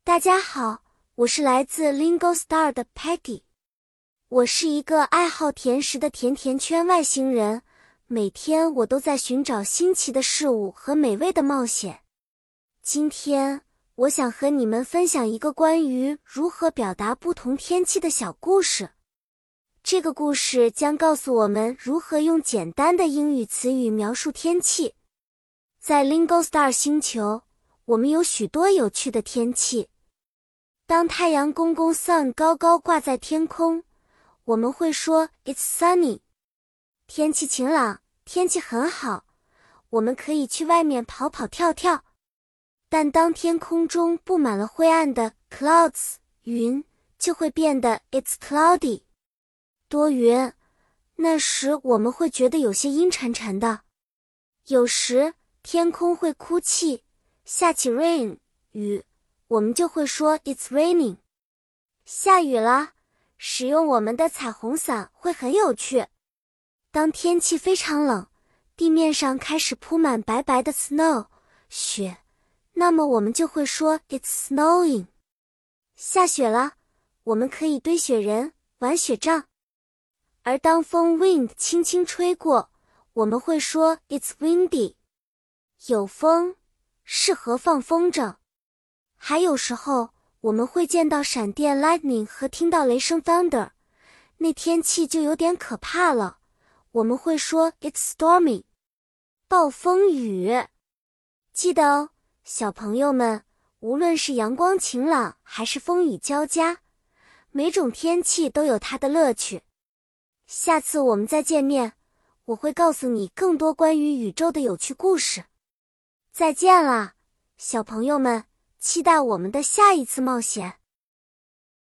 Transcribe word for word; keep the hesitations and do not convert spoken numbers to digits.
大家好，我是来自 Lingo Star 的 Peggy。我是一个爱好甜食的甜甜圈外星人，每天我都在寻找新奇的事物和美味的冒险。今天，我想和你们分享一个关于如何表达不同天气的小故事。这个故事将告诉我们如何用简单的英语词语描述天气。在 Lingo Star 星球，我们有许多有趣的天气。当太阳公公 Sun 高高挂在天空，我们会说 It's sunny。天气晴朗，天气很好，我们可以去外面跑跑跳跳。但当天空中布满了灰暗的 clouds 云，就会变得 It's cloudy 多云。那时我们会觉得有些阴沉沉的。有时天空会哭泣，下起 rain 雨，我们就会说 It's raining。 下雨了，使用我们的彩虹伞会很有趣。当天气非常冷，地面上开始铺满白白的 snow 雪，那么我们就会说 It's snowing。 下雪了，我们可以堆雪人，玩雪仗。而当风 wind 轻轻吹过，我们会说 It's windy。 有风，适合放风筝。还有时候我们会见到闪电 lightning 和听到雷声 thunder， 那天气就有点可怕了，我们会说 It's stormy。 暴风雨。记得哦，小朋友们，无论是阳光晴朗还是风雨交加，每种天气都有它的乐趣。下次我们再见面，我会告诉你更多关于宇宙的有趣故事。再见啦，小朋友们，期待我们的下一次冒险。